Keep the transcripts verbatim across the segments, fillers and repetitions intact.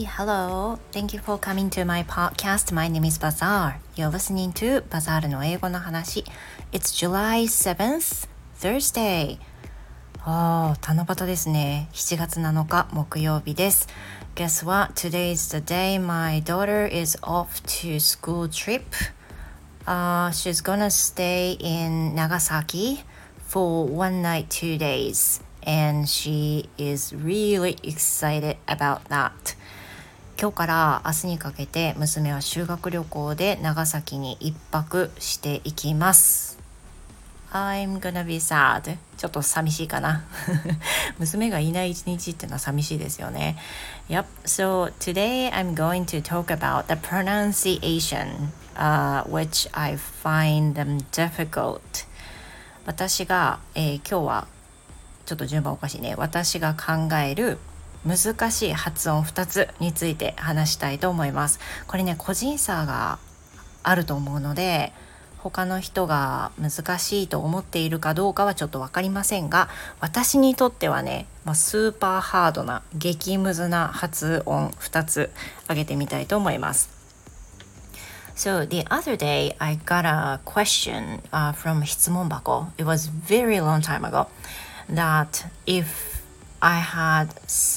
hello. Thank you for coming to my podcast. My name is Bazaar. You're listening to Bazaar の英語の話。It's July seventh, Thursday. あー、七夕ですね。しちがつなのか木曜日です。Guess what? Today is the day my daughter is off to school trip.Uh, she's gonna stay in Nagasaki for one night, two days, and she is really excited about that. 今日から明日にかけて娘は修学旅行で長崎に一泊していきます。I'm gonna be sad. ちょっと寂しいかな。娘がいない一日ってのは寂しいですよね。Yep. So today I'm going to talk about the pronunciation.Uh, which I find them difficult. 私が、えー、今日はちょっと順番おかしいね。私が考える難しい発音ふたつについて話したいと思います。これね、個人差があると思うので、他の人が難しいと思っているかどうかはちょっと分かりませんが、私にとってはね、まあ、スーパーハードな激ムズな発音ふたつ挙げてみたいと思います。So the other day I got a question、uh, from 質問箱. It was very long time ago that if I had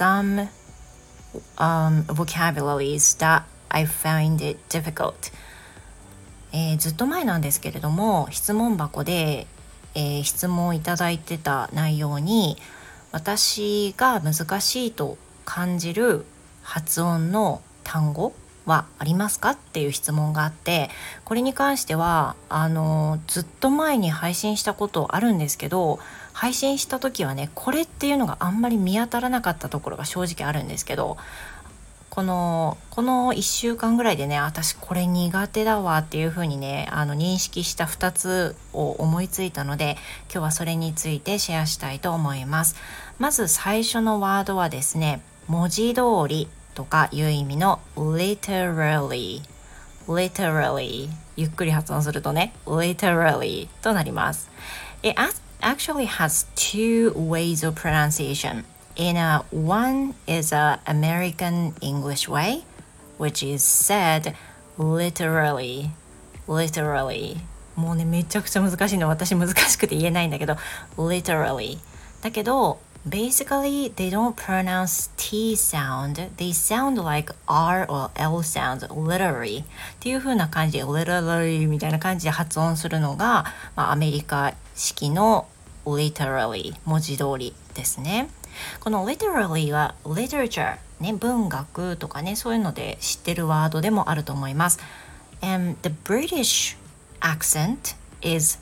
some、um, vocabularies that I find it difficult、えー、ずっと前なんですけれども質問箱で、えー、質問いただいてた内容に私が難しいと感じる発音の単語はありますかっていう質問があって、これに関してはあのずっと前に配信したことあるんですけど、配信した時はねこれっていうのがあんまり見当たらなかったところが正直あるんですけど、このこのいっしゅうかんぐらいでね、私これ苦手だわっていう風にねあの認識したふたつを思いついたので、今日はそれについてシェアしたいと思います。まず最初のワードはですね、文字通りとかいう意味の literally literally ゆっくり発音するとね literally となります。 It actually has two ways of pronunciation. In a, one is a American English way, which is said literally literally もうねめちゃくちゃ難しいの、私難しくて言えないんだけど literally だけどBasically, they don't pronounce T sound. They sound like R or L sounds, literally. っていう風な感じで、literally みたいな感じで発音するのが、まあ、アメリカ式の literally 文字通りですね。この literally は literature、ね、文学とかね、そういうので知ってるワードでもあると思います。And the British accent is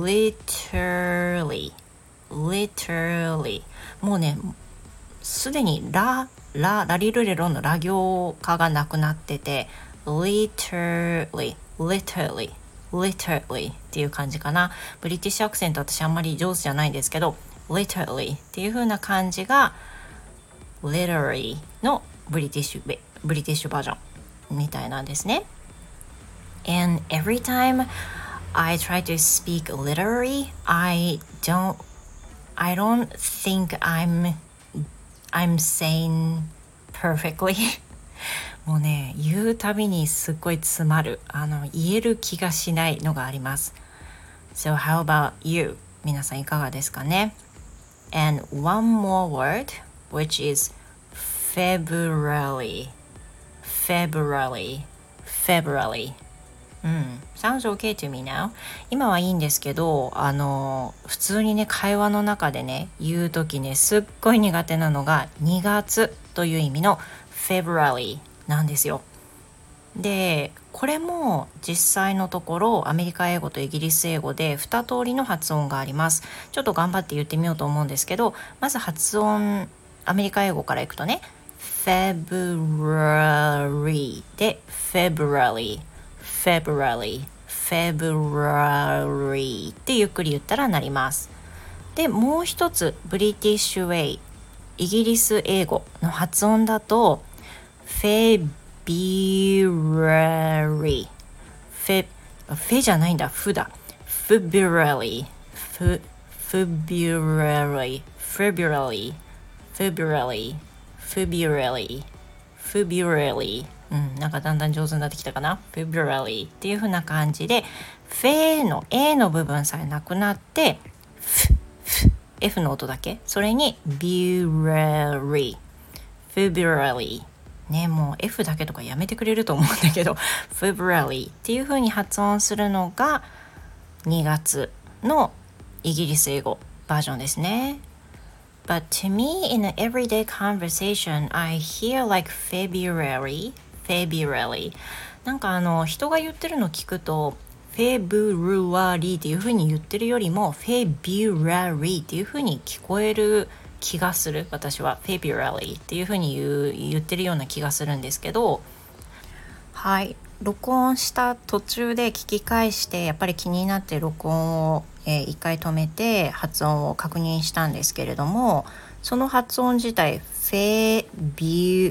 literally.literally もうねすでにラララリルレロのラ行化がなくなってて literally literally literally っていう感じかな。ブリティッシュアクセント私あんまり上手じゃないんですけど literally っていう風な感じが literally のブリティッシュブリティッシュバージョンみたいなんですね。 And every time I try to speak literally I don't I don't think I'm I'm saying perfectly もうね言うたびにすっごい詰まる、あの言える気がしないのがあります。 So how about you? 皆さんいかがですかね。 And one more word which is February February Februaryうん、sounds okay to me now. 今はいいんですけど、あの普通にね会話の中でね言うときねすっごい苦手なのがにがつという意味の February なんですよ。でこれも実際のところアメリカ英語とイギリス英語でに通りの発音があります。ちょっと頑張って言ってみようと思うんですけど、まず発音アメリカ英語からいくとね February で February February February ってゆっくり言ったらなります。でもう一つブリティッシュウェイイギリス英語の発音だと February フェフェじゃないんだフだ February February February February February February、うん、なんかだんだん上手になってきたかな。February っていう風な感じで、フェの A の部分さえなくなって、フ、フ、F の音だけ。それに February、February。ね、もう F だけとかやめてくれると思うんだけど、February っていう風に発音するのがにがつのイギリス英語バージョンですね。But to me, in an everyday conversation, I hear like February, February. なんかあの人が言ってるの聞くと、February っていう風に言ってるよりも February っていう風に聞こえる気がする。私は February っていう風に言う、言ってるような気がするんですけど、はい。録音した途中で聞き返してやっぱり気になって録音を、えー、一回止めて発音を確認したんですけれども、その発音自体 February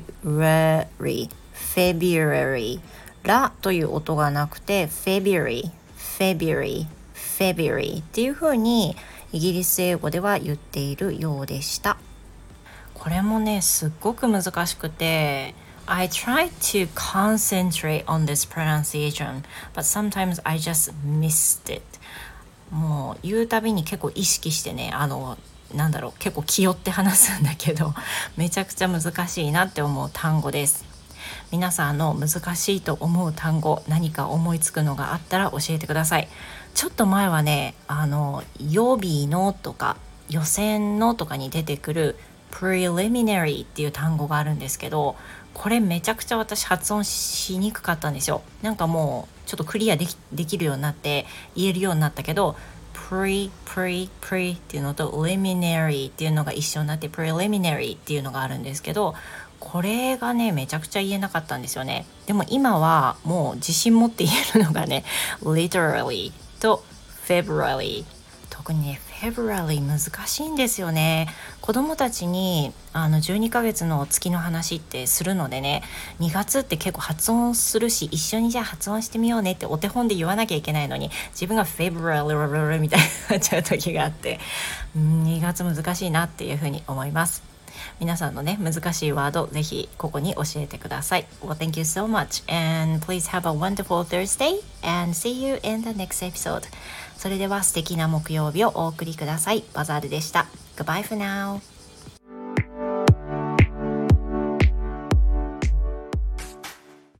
February ラという音がなくて February February February っていう風にイギリス英語では言っているようでした。これもねすっごく難しくて、I try to concentrate on this pronunciation, but sometimes I just missed it. もう言うたびに結構意識してね、あのなんだろう、結構気負って話すんだけど、めちゃくちゃ難しいなって思う単語です。皆さんの難しいと思う単語、何か思いつくのがあったら教えてください。ちょっと前はね、あの予備のとか予選のとかに出てくるpreliminary っていう単語があるんですけど、これめちゃくちゃ私発音しにくかったんですよ。なんかもうちょっとクリアでき、できるようになって言えるようになったけど、pre pre pre っていうのと liminary っていうのが一緒になって preliminary っていうのがあるんですけど、これがねめちゃくちゃ言えなかったんですよね。でも今はもう自信持って言えるのがね literally と February。特にね February 難しいんですよね。子供たちにあのじゅうにかげつの月の話ってするのでね、にがつって結構発音するし、一緒にじゃあ発音してみようねってお手本で言わなきゃいけないのに、自分が February みたいになっちゃう時があって、にがつ難しいなっていうふうに思います。皆さんのね難しいワードぜひここに教えてください。 Well, thank you so much and please have a wonderful Thursday and see you in the next episode. それでは素敵な木曜日をお送りください。バザールでした。 Goodbye for now.